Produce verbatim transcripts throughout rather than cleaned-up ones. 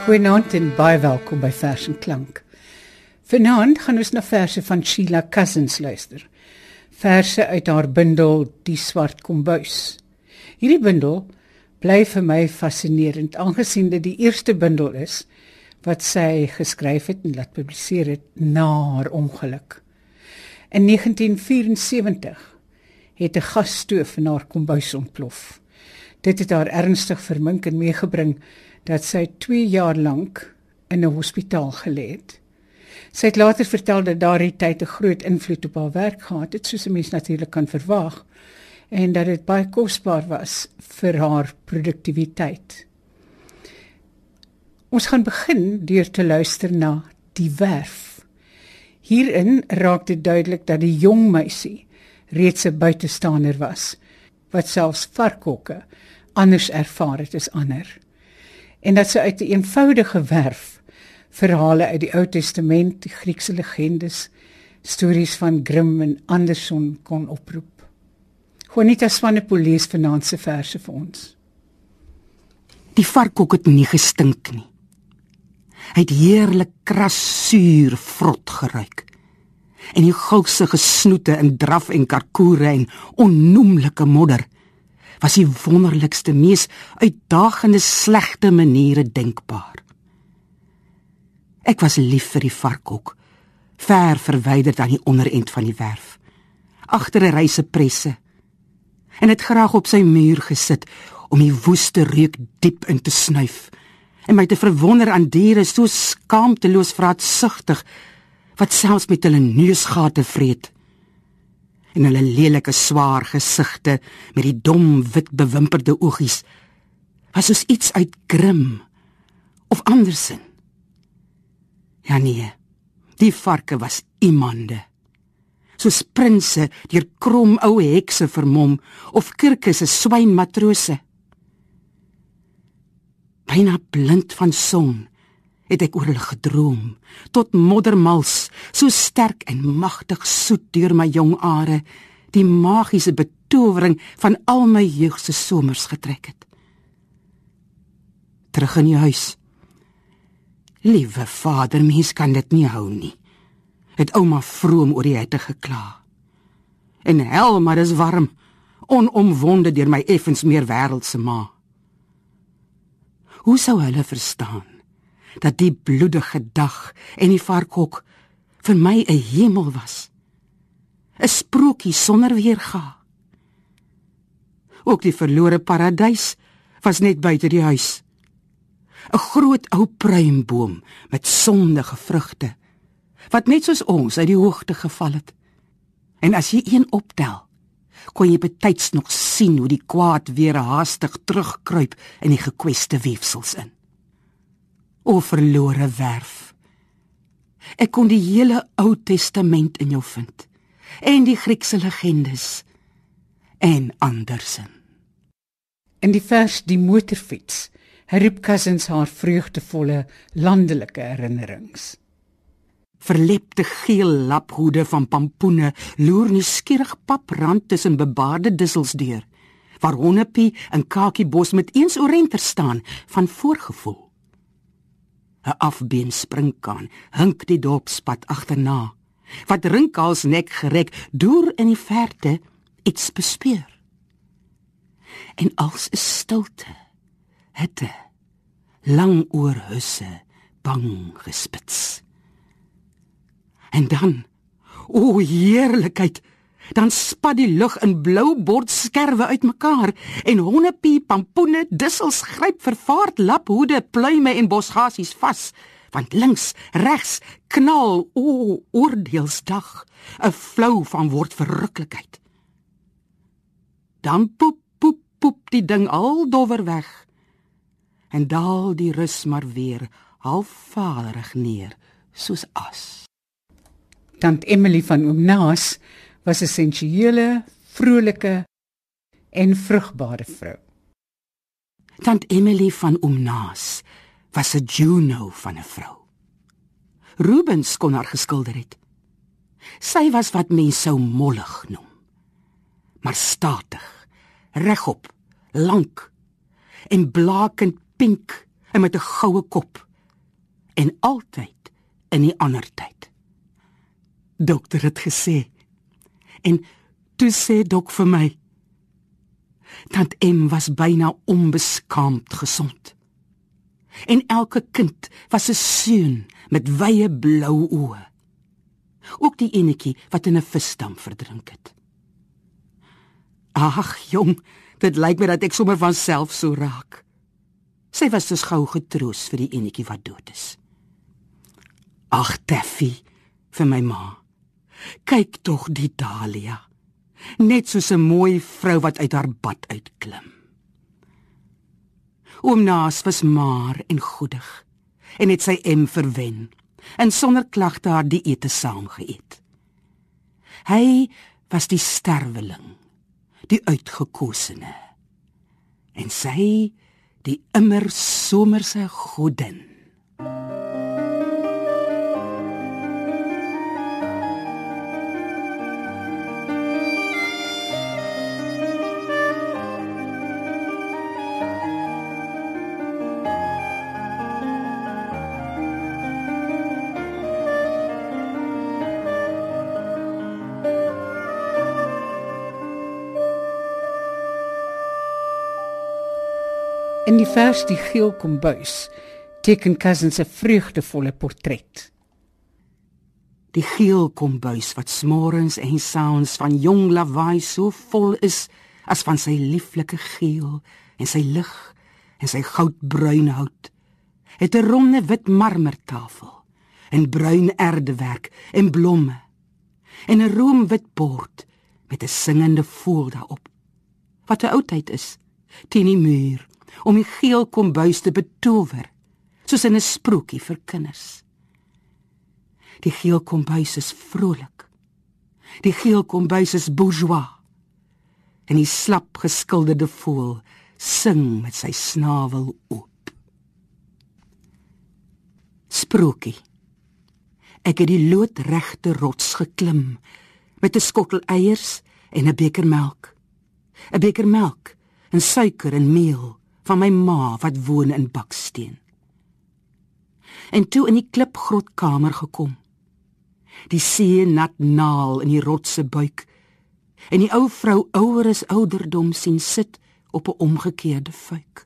Goeienaand en baie welkom by Vers en Klank. Vanaand gaan ons na verse van Sheila Cousins luister. Verse uit haar bundel Die Swart Kombuis. Hierdie bundel bly vir my fascinerend, aangesien dit die eerste bundel is wat sy geskryf het en laat publiseer het na haar ongeluk. In negentien vyf-en-sewentig het 'n gasstoof in haar kombuis ontplof. Dit het haar ernstig vermink en meegebring dat sy twee jaar lank in 'n hospitaal gelê het. Sy het later vertel dat daardie tyd 'n groot invloed op haar werk gehad het, soos 'n mens natuurlik kan verwag, en dat dit baie kosbaar was vir haar produktiwiteit. Ons gaan begin deur te luister na Die Werf. Hierin raak dit duidelik dat die jong meisie reeds 'n buitestander was, wat selfs varkhokke anders ervaar het as ander. En dat sy uit 'n eenvoudige werf verhale uit die Ou Testament, die Griekse legendes, stories van Grimm en Anderson kon oproep. Juanita Swanepoel lees vanaand se verse vir ons. Die varkhok het nie gestink nie. Hy het heerlik kras, suur, vrot geruik. En die gulsige snoete in draf en karkoere en onnoemlike modder was die wonderlikste, mees uitdagende slegte maniere denkbaar. Ek was lief vir die varkhok, ver verwyderd aan die onderend van die werf, agter 'n reise presse, en het graag op sy muur gesit om die woeste reuk diep in te snuif, en my te verwonder aan diere so skaamteloos vraatsugtig, wat selfs met hulle neusgate vreet, en hulle lelike swaar gesigte met die dom wit bewimperde oogies, was soos iets uit Grimm of Andersen. Ja nee, die varke was iemande, soos prinse deur krom ou hekse vermom, of kirkes as swynmatrose. Byna blind van son het ek oor hulle gedroom, tot moddermals, so sterk en magtig soet deur my jong are, die magiese betowering van al my jeugse somers getrek het. Terug in die huis. Liewe vader, mens kan dit nie hou nie, het ouma vroom oor die hitte gekla. En hel, maar is warm, onomwonde deur my effens meer wêreldse ma. Hoe sou hulle verstaan dat die bloedige dag en die varkhok vir my 'n hemel was, 'n sprokie sonder weerga? Ook die verlore paradys was net buite die huis, 'n groot ou pruimboom met sondige vrugte, wat net soos ons uit die hoogte geval het. En as jy een optel, kon jy betyds nog sien hoe die kwaad weer haastig terugkruip in die gekweste weefsels in. O verlore werf, ek kon die hele Ou Testament in jou vind, en die Griekse legendes, en Andersen. In die vers Die Motorfiets herroep Cousins haar vreugdevolle landelike herinnerings. Verlepte geel laphoede van pampoene loer nuuskierig paprand tussen bebaarde dissels deur, waar Honnepie en Kakiebos met eens oorenter staan van voorgevoel. 'n afbeen springkaan hink die dorpspad agterna, wat Rinkals nek gerek deur in die verte iets bespeur. En als 'n stilte, hitte, lang oor husse, bang gespits. En dan, o heerlikheid, dan spat die lug in blou bordskerwe uit mekaar, en Honnepie, pampoene, dissels gryp vervaard laphoede, pluime en bosgasies vas, want links, regs, knal, o oordeelsdag, 'n flou van word verruklikheid. Dan poep, poep, poep die ding al dowwer weg, en daal die rus maar weer halfvaderig neer, soos as. Tant Emily van Oom Naas was 'n sensuele, vrolike en vrugbare vrou. Tant Emily van Oom Naas was 'n Juno van 'n vrou. Rubens kon haar geskilder het. Sy was wat mens sou mollig noem, maar statig, regop, lank en blakend pink en met 'n goue kop en altyd in die ander tyd. Dokter het gesê, en toe sê dok vir my, Tant Em was byna onbeskaamd gesond. En elke kind was 'n seun met wye blou oë. Ook die enetjie wat in 'n visdam verdrink het. Ag jong, dit lyk my dat ek sommer van self so raak. Sy was dus gou getroos vir die enetjie wat dood is. Ag Taffy, vir my ma, kyk tog die Dahlia, net soos 'n mooi vrou wat uit haar bad uitklim. Oom Naas was maar en goedig, en het sy Em verwen, en sonder klagte haar die ete saam geëet. Hy was die sterweling, die uitgekosene, en sy die immer somerse godin. In die vers Die Geel Kombuis teken Cousins 'n vreugdevolle portret. Die geel kombuis wat smorens en saans van jong lawaai so vol is as van sy lieflike geel en sy lig en sy goudbruin hout, het 'n ronde wit marmertafel en bruin erdewerk en blomme en 'n roomwit bord met 'n singende voël daarop, wat 'n oudheid is, teen die muur, om die geel kombuis te betower, soos in 'n sprokie vir kinders. Die geel kombuis is vrolik. Die geel kombuis is bourgeois. En die slap geskilderde voël sing met sy snavel oop. Sprokie. Ek het die loodregte rots geklim, met 'n skottel eiers en 'n beker melk. 'n beker melk en suiker en meel van my ma wat woon in baksteen. En toe in die klipgrotkamer gekom, die see nat naal in die rotse buik, en die ou vrou ouer as ouderdom sien sit op 'n omgekeerde fuik.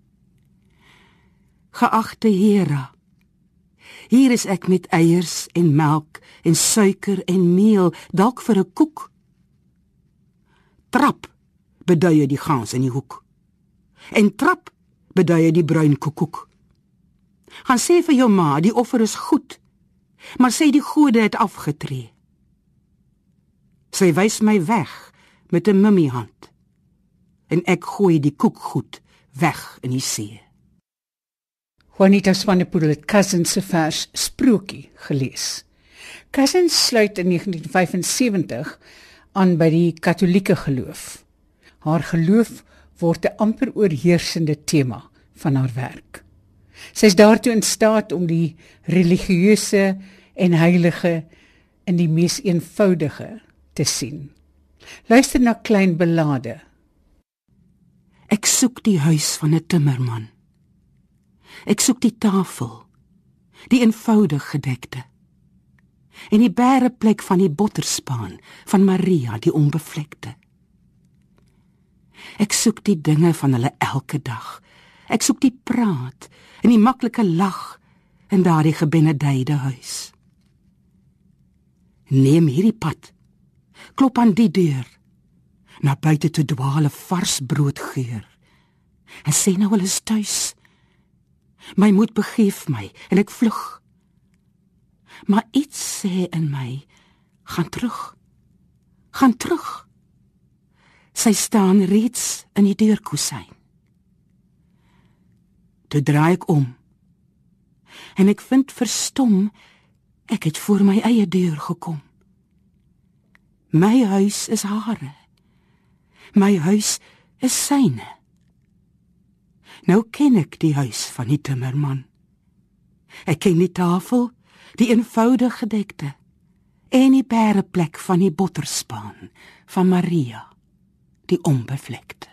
Geagte Hera, hier is ek met eiers en melk en suiker en meel, dalk vir 'n koek. Trap, beduie die gans in die hoek. En trap, beduie die bruin koekoek. Gaan sê vir jou ma, die offer is goed, maar sê die gode het afgetree. Sy wys my weg met 'n mummiehand, en ek gooi die koekgoed weg in die see. Juanita Swanepoel het Cousins se vers Sprokie gelees. Cousins sluit in negentien vyf en sewentig aan by die Katolieke geloof. Haar geloof word 'n amper oorheersende tema van haar werk. Sy is daartoe in staat om die religieuse en heilige in die mees eenvoudige te sien. Luister na Klein Belade. Ek soek die huis van 'n timmerman. Ek soek die tafel, die eenvoudig gedekte, en die bæreplek van die botterspaan van Maria die onbevlekte. Ek soek die dinge van hulle elke dag. Ek soek die praat en die maklike lag in daardie gebenedeide huis. Neem hierdie pad, klop aan die deur, na buite toe dwaal 'n vars broodgeur, en sê nou hulle is tuis. My moed begeef my en ek vlug, maar iets sê in my, gaan terug, gaan terug. Sy staan reeds in die deurkusyn. Toe draai ek om, en ek vind verstom, ek het voor my eie deur gekom. My huis is hare, my huis is syne. Nou ken ek die huis van die timmerman. Ek ken die tafel, die eenvoudig gedekte, en die bæreplek van die botterspaan van Maria, die onbevlekte.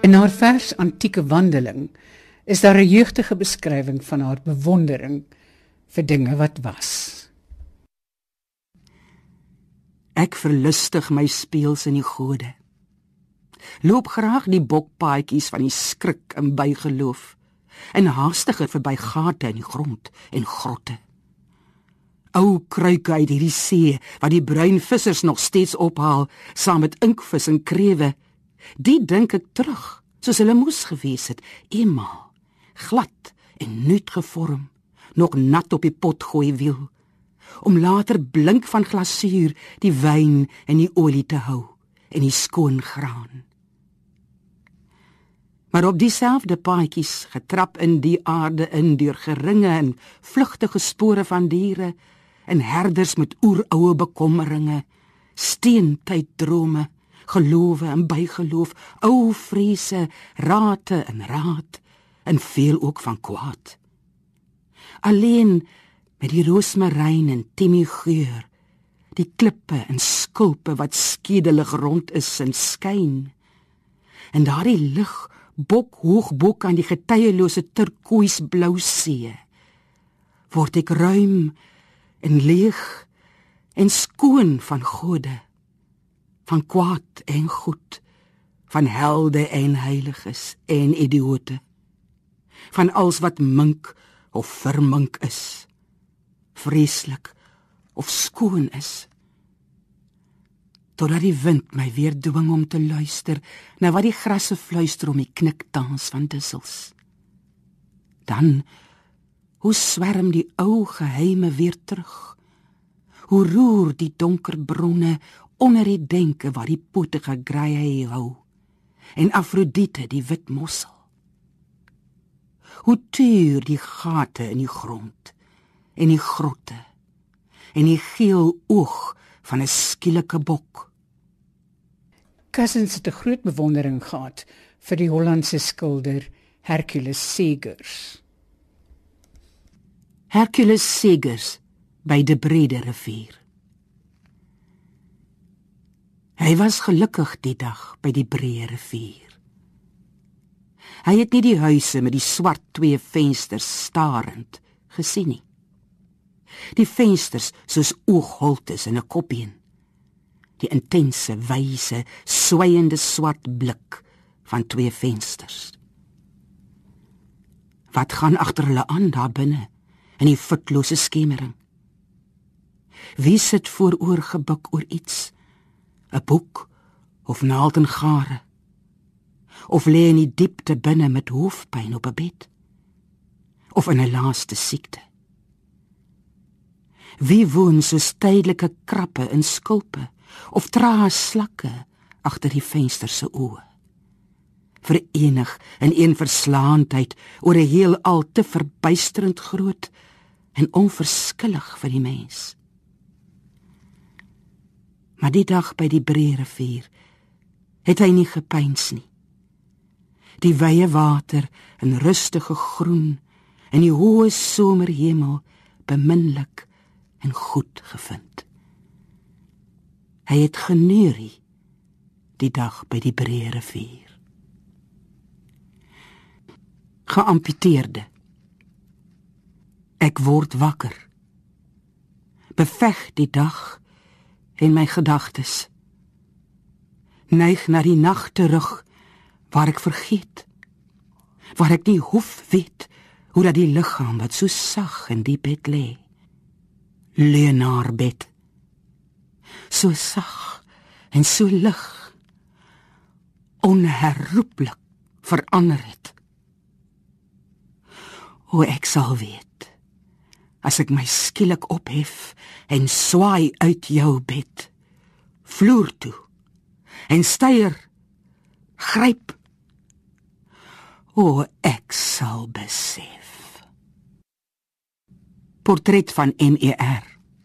In haar vers Antieke Wandeling is daar 'n jeugdige beskrywing van haar bewondering vir dinge wat was. Ek verlustig my speels in die gode. Loop graag die bokpaadjies van die skrik en bygeloof, en haastiger verby gate in die grond en grotte. Ou kruike uit hierdie see, wat die bruin vissers nog steeds ophaal, saam met inkvis en krewe, die dink ek terug, soos hulle moes gewees het, eenmaal, glad en nuut gevorm, nog nat op die potgooiwiel, om later blink van glasuur die wyn en die olie te hou, en die skoon graan. Maar op dieselfde paadjies, getrap in die aarde in, deur geringe en vlugtige spore van diere, en herders met oeroue bekommeringe, steentyddrame, gelowe en bygeloof, ou vrese, rate en raad, en veel ook van kwaad. Alleen met die roosmaryn en timmie-geur, die klippe en skulpe wat skedelig rond is en skyn, en daardie lig bok hoog bok aan die getuielose turkooisblou see, word ek ruim en leeg en skoon van gode, van kwaad en goed, van helde en heiliges en idioote, van als wat mink of vermink is, vreeslik of skoon is, totdat die wind my weer dwing om te luister na wat die grasse fluister om die kniktans van dussels. Dan, hoe swerm die ou geheime weer terug, hoe roer die donker bronne onder die denke waar die potige graai hou, en Afrodite die wit mossel. Hoe tuur die gate in die grond, en die grotte, en die geel oog van 'n skielike bok. Cousins het 'n groot bewondering gehad vir die Hollandse skilder Hercules Segers. Hercules Segers by die Brede rivier. Hy was gelukkig die dag by die Breë rivier. Hy het nie die huise met die swart twee vensters starend gesien nie. Die vensters soos oogholtes in 'n kopbeen. Die intense, wyse, swaiende swart blik van twee vensters. Wat gaan agter hulle aan daar binne, in die futlose skemering? Wie sit vooroor gebuk oor iets? 'n boek of naald en gare? Of lê in die diepte binne met hoofpyn op 'n bed? Of in 'n laaste siekte? Wie woon soos tydelike krappe in skulpe, of trae slakke agter die venster se oë? Verenig in een verslaandheid oor 'n heelal te verbuisterend groot en onverskillig vir die mens. Maar die dag by die Breë rivier het hy nie gepyns nie. Die wye water in rustige groen en die hoë somerhemel beminlik en goed gevind. Hy het geneurie die dag by die Breë rivier. Geamputeerde. Ek word wakker. Beveg die dag en my gedagtes. Neig na die nag terug, waar ek vergeet, waar ek nie hoef weet, hoe dat die liggaam wat so sag in die bed lê, leenaarbed, so sag en so lig, onherroepelik verander het. O, ek sal weet, as ek my skielik ophef en swaai uit jou bed, vloer toe, en steier, gryp. O, ek sal besef. Portret van M E R.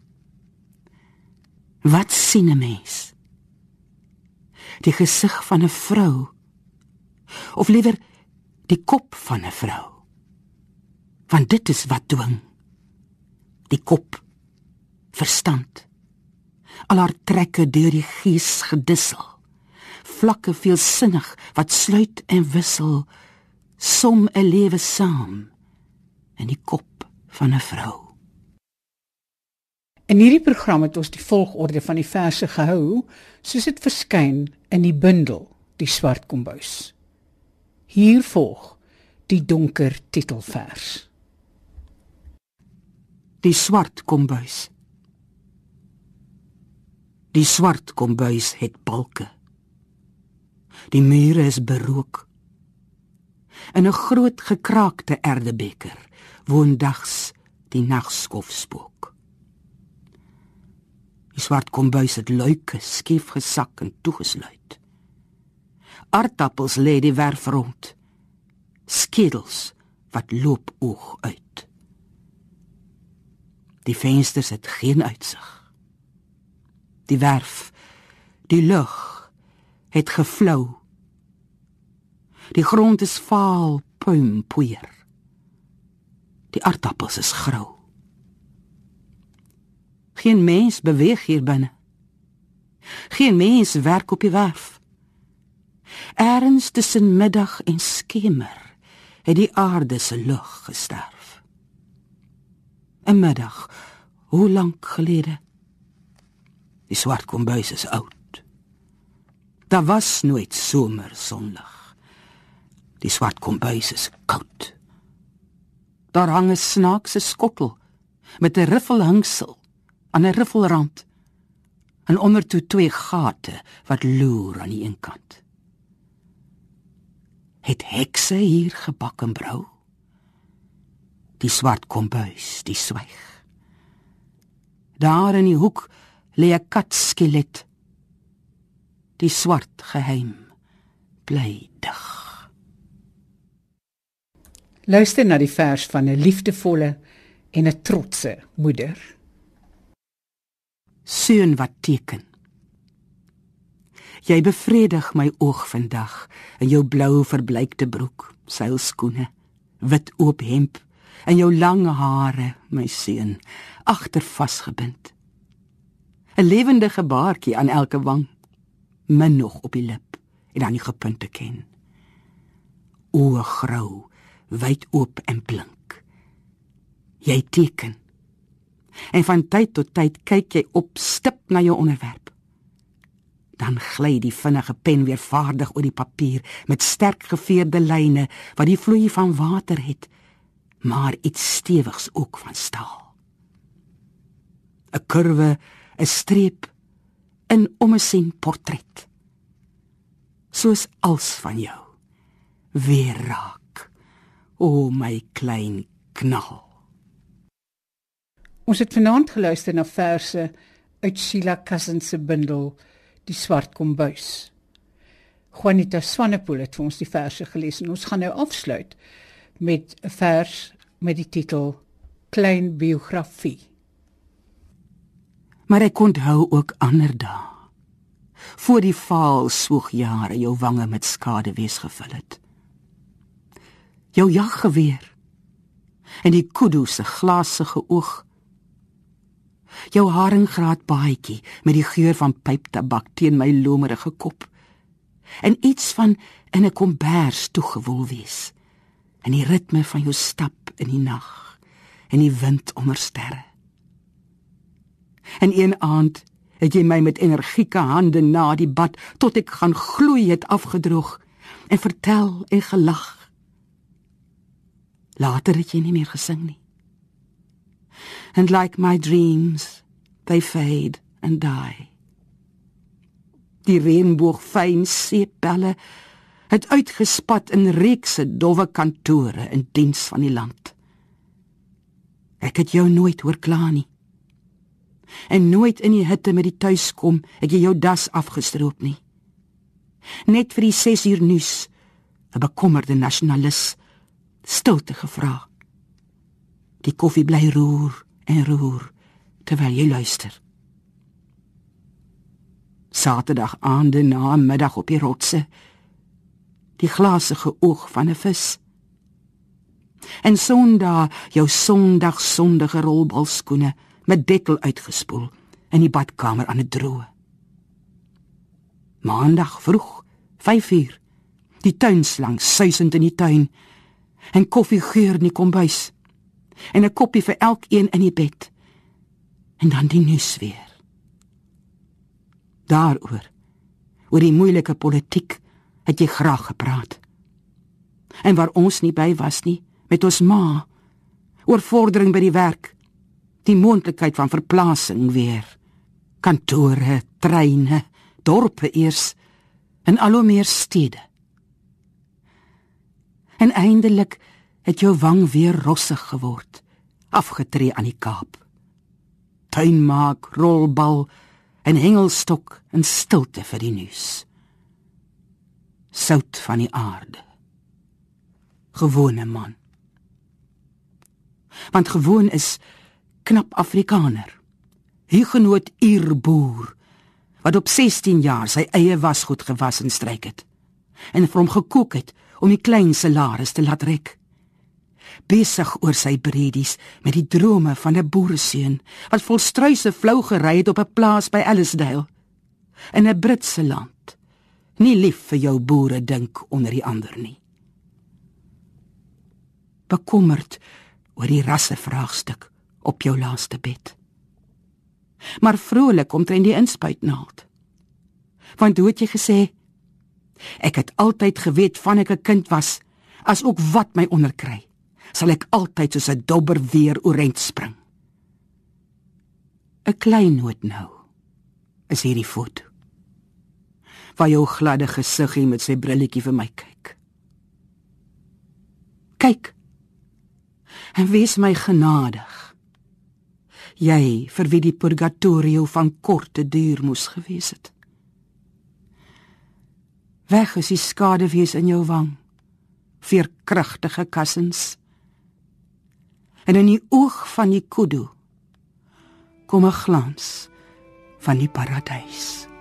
Wat sien 'n mens? Die gesig van 'n vrou, of liewer die kop van 'n vrou? Want dit is wat dwing. Die kop, verstand, al haar trekke deur die gees gedissel, vlakke veelsinnig wat sluit en wissel, som 'n lewe saam in die kop van 'n vrou. In hierdie program het ons die volgorde van die verse gehou, soos dit verskyn in die bundel Die Swart Kombuis. Hier volg die donker titelvers. Die swart kombuis. Die swart kombuis het balke. Die mure is berook. In 'n groot gekraakte erdebeker woon dags die nagskof spook. Die swart kombuis het luike skief gesak en toegesluit. Aardappels lê die werf rond, skedels wat loop oog uit. Die vensters het geen uitsig. Die werf, die lug, het geflou. Die grond is vaal puimpoeier. Die aardappels is grou. Geen mens beweeg hier binne. Geen mens werk op die werf. Ergens tussen middag en skemer het die aarde se lug gesterf. 'n middag, hoe lank gelede? Die swart kombuis is oud. Daar was nooit somer sonlig. Die swart kombuis is koud. Daar hang 'n snaakse skottel met 'n riffelhangsel aan 'n riffelrand en ondertoe twee gate wat loer aan die een kant. Het hekse hier gebak en brou? Die swart kombuis, die swyg. Daar in die hoek lê 'n katskelet. Die swart geheim bly dig. Luister na die vers van 'n liefdevolle en 'n trotse moeder. Seun wat teken. Jy bevredig my oog vandag in jou blou verbleikte broek, seilskoene, wit oop hemp en jou lang hare, my seun, agter vasgebind. 'n lewendige baartjie aan elke wang, min nog op die lip en aan die gepunte ken. Oë grou, wyd oop en blink. Jy teken. En van tyd tot tyd kyk jy op stip na jou onderwerp. Dan gly die vinnige pen weer vaardig oor die papier met sterk geveerde lyne wat die vloei van water het, maar iets stewigs ook van staal. 'n kurwe, 'n streep, 'n ommesien portret. Soos als van jou, weer raak, o my klein knal. Ons het vanaand geluister na verse uit Sheila Cousins se bundel Die Swart Kombuis. Juanita Swanepoel het vir ons die verse gelees en ons gaan nou afsluit met 'n vers met die titel Klein Biografie. Maar ek onthou ook ander dae, voor die vaal swoegjare jou wange met skaduwees gevul het. Jou jaggeweer en die kudu se glasige oog. Jou haringgraat baadjie met die geur van pyptabak teen my lomerige kop. En iets van in 'n kombers toegewoel wees. En die ritme van jou stap in die nag en die wind onder sterre. En een aand het jy my met energieke hande na die bad tot ek gaan gloei het afgedroog en vertel en gelag. Later het jy nie meer gesing nie. And like my dreams, they fade and die. Die reënboog fyn seepbelle het uitgespat in reekse dowwe kantore in diens van die land. Ek het jou nooit hoor kla nie. En nooit in die hitte met die tuiskom het jy jou das afgestroop nie. Net vir die ses uur nuus, 'n bekommerde nasionalis, stilte gevra. Die koffie bly roer en roer, terwyl jy luister. Saterdag aande na middag op die rotse, die glasige oog van 'n vis. En Sondag jou Sondag sondige rolbalskoene met dekkel uitgespoel in die badkamer aan 'n droë. Maandag vroeg, vyf uur, die tuinslang suisend in die tuin, en koffie geur in die kombuis, en 'n koppie vir elkeen in die bed, en dan die nuus weer. Daaroor, oor die moeilike politiek, het jy graag gepraat. En waar ons nie by was nie, met ons ma, oor vordering by die werk, die moontlikheid van verplasing weer, kantore, treine, dorpe eers, en al hoe meer stede. En eindelik het jou wang weer rossig geword, afgetree aan die Kaap. Tuinmaak, rolbal en hengelstok en stilte vir die nuus. Sout van die aarde. Gewone man. Want gewoon is knap Afrikaner, Huguenot Ierboer, wat op sestien jaar sy eie wasgoed gewas en stryk het, en vir hom gekook het om die klein salaris te laat rek. Besig oor sy bredies met die drome van 'n boereseun, wat vol struise flou gery het op 'n plaas by Ellisdale, in 'n Britse land, nie lief vir jou boere dink onder die ander nie. Bekommerd oor die rassevraagstuk op jou laaste bed. Maar vrolik omtrent die inspuitnaald. Want hoe het jy gesê, ek het altyd geweet van ek 'n kind was, as ook wat my onderkry, sal ek altyd soos 'n dobber weer oorent spring. 'n Klein noot nou, is hierdie foto, waar jou gladde gesiggie met sy brilletjie vir my kyk. Kyk, en wees my genadig, jy vir wie die purgatorio van korte duur moes gewees het. Weg is die skadewees in jou wang, veerkragtige kussens, en in die oog van die kudu kom 'n glans van die paradys.